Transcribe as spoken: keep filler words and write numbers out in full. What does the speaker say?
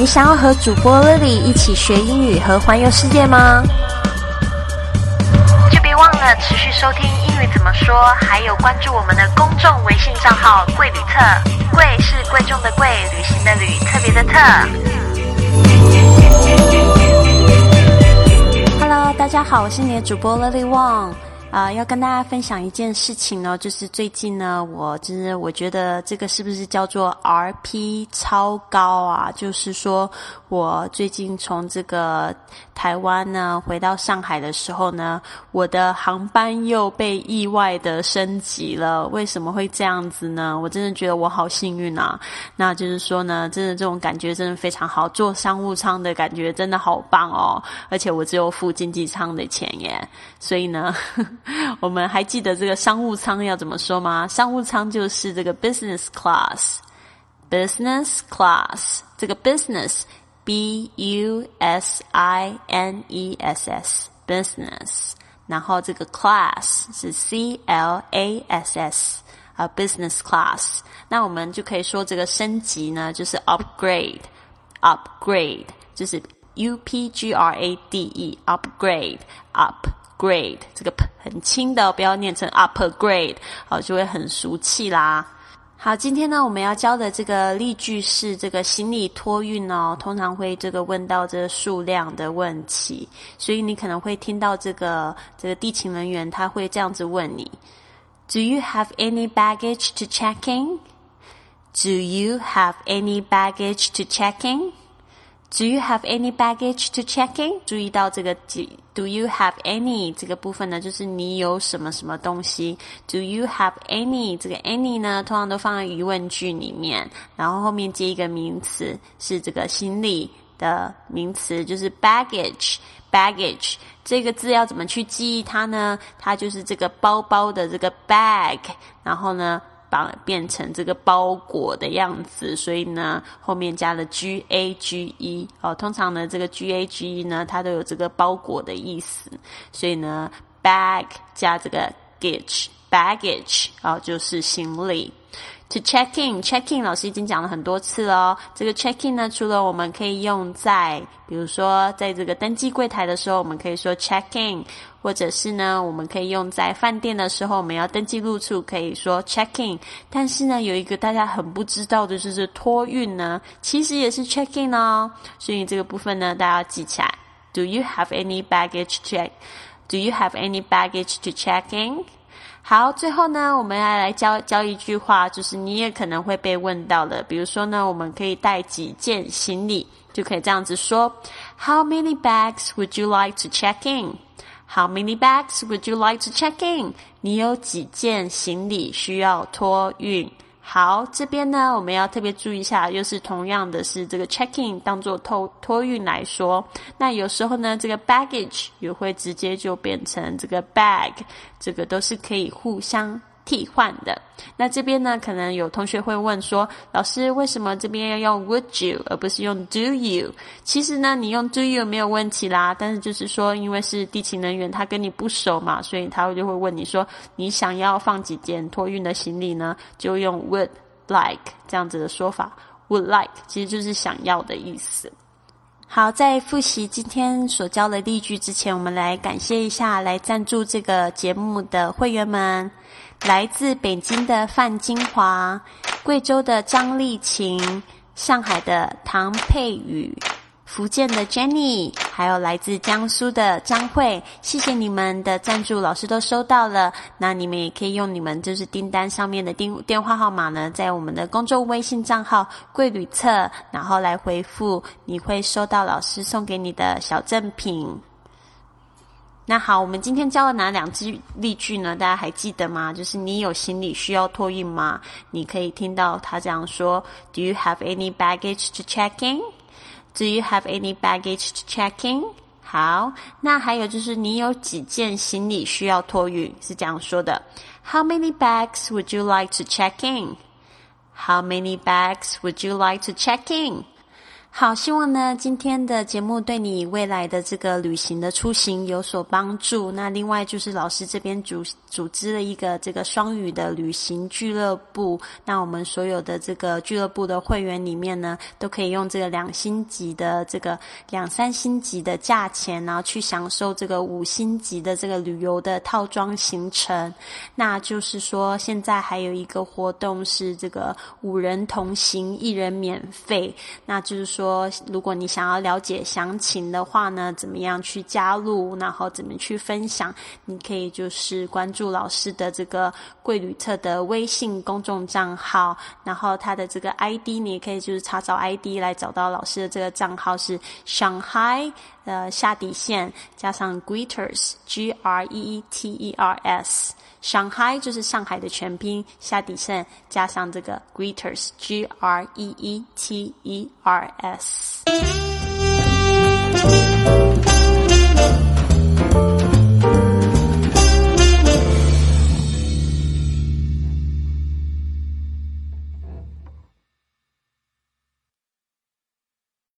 你想要和主播 Lily 一起学英语和环游世界吗？就别忘了持续收听英语怎么说，还有关注我们的公众微信账号贵旅特，贵是贵重的贵，旅行的旅，特别的特。Hello， 大家好，我是你的主播 Lily Wong。啊、呃，要跟大家分享一件事情呢，就是最近呢，我就是我觉得这个是不是叫做 R P 超高啊？就是说我最近从这个台湾呢回到上海的时候呢，我的航班又被意外的升级了。为什么会这样子呢？我真的觉得我好幸运啊！那就是说呢，真的这种感觉真的非常好，坐商务舱的感觉真的好棒哦！而且我只有付经济舱的钱耶，所以呢。我们还记得这个商务舱要怎么说吗？商务舱就是这个 business class， business class， 这个 business B U S I N E S S business， 然后这个 class 是 C L A S S 啊、uh, business class。那我们就可以说这个升级呢，就是 upgrade， upgrade 就是 U P G R A D E upgrade up。grade 这个很轻的，不要念成 upgrade， 好，就会很俗气啦。好，今天呢我们要教的这个例句是这个行李托运哦，通常会这个问到这个数量的问题，所以你可能会听到这个这个地勤人员他会这样子问你 Do you have any baggage to check in? Do you have any baggage to check in?Do you have any baggage to check in? 注意到这个 Do you have any 这个部分呢，就是你有什么什么东西。Do you have any 这个 any 呢，通常都放在疑问句里面，然后后面接一个名词，是这个行李的名词，就是 baggage baggage 这个字要怎么去记忆它呢？它就是这个包包的这个 bag， 然后呢把变成这个包裹的样子，所以呢后面加了 G A G E 哦，通常呢这个 G A G E 呢它都有这个包裹的意思，所以呢 bag 加这个 gage baggage 哦就是行李。To check in, check in 老师已经讲了很多次了哦。这个 check in 呢，除了我们可以用在，比如说在这个登记柜台的时候，我们可以说 check in， 或者是呢，我们可以用在饭店的时候，我们要登记入住，可以说 check in。但是呢，有一个大家很不知道的就是托运呢，其实也是 check in 哦。所以这个部分呢，大家要记起来。Do you have any baggage check? Do you have any baggage to check in?好，最后呢，我们要来教教一句话，就是你也可能会被问到的。比如说呢，我们可以带几件行李，就可以这样子说 How many bags would you like to check in? How many bags would you like to check in? 你有几件行李需要托运？好，这边呢我们要特别注意一下，又是同样的是这个 check in 当作托托运来说，那有时候呢这个 baggage 也会直接就变成这个 bag， 这个都是可以互相替换的。那这边呢可能有同学会问说，老师为什么这边要用 would you 而不是用 do you？ 其实呢你用 do you 没有问题啦，但是就是说因为是地勤人员他跟你不熟嘛，所以他就会问你说你想要放几件托运的行李呢，就用 would like 这样子的说法。 would like 其实就是想要的意思。好，在复习今天所教的例句之前，我们来感谢一下来赞助这个节目的会员们，来自北京的范金华，贵州的张丽琴，上海的唐佩宇，福建的 Jenny， 还有来自江苏的张慧，谢谢你们的赞助，老师都收到了。那你们也可以用你们就是订单上面的电电话号码呢，在我们的公众微信账号贵旅册，然后来回复，你会收到老师送给你的小赠品。那好，我们今天教了哪两句例句呢？大家还记得吗？就是你有行李需要托运吗？你可以听到他这样说 Do you have any baggage to check in?Do you have any baggage to check in? 好，那还有就是你有几件行李需要托运，是这样说的 How many bags would you like to check in? How many bags would you like to check in? 好，希望呢今天的节目对你未来的这个旅行的出行有所帮助。那另外就是老师这边组组织了一个这个双语的旅行俱乐部，那我们所有的这个俱乐部的会员里面呢，都可以用这个两星级的这个两三星级的价钱，然后去享受这个五星级的这个旅游的套装行程。那就是说现在还有一个活动是这个五人同行一人免费，那就是说说如果你想要了解详情的话呢，怎么样去加入，然后怎么去分享，你可以就是关注老师的这个贵旅特的微信公众账号，然后他的这个 I D 你也可以就是查找 I D 来找到老师的这个账号是 Shanghai 呃下底线加上 Greeters G R E E T E R S Shanghai 就是上海的全拼，下底线加上这个 Greeters G R E E T E R S。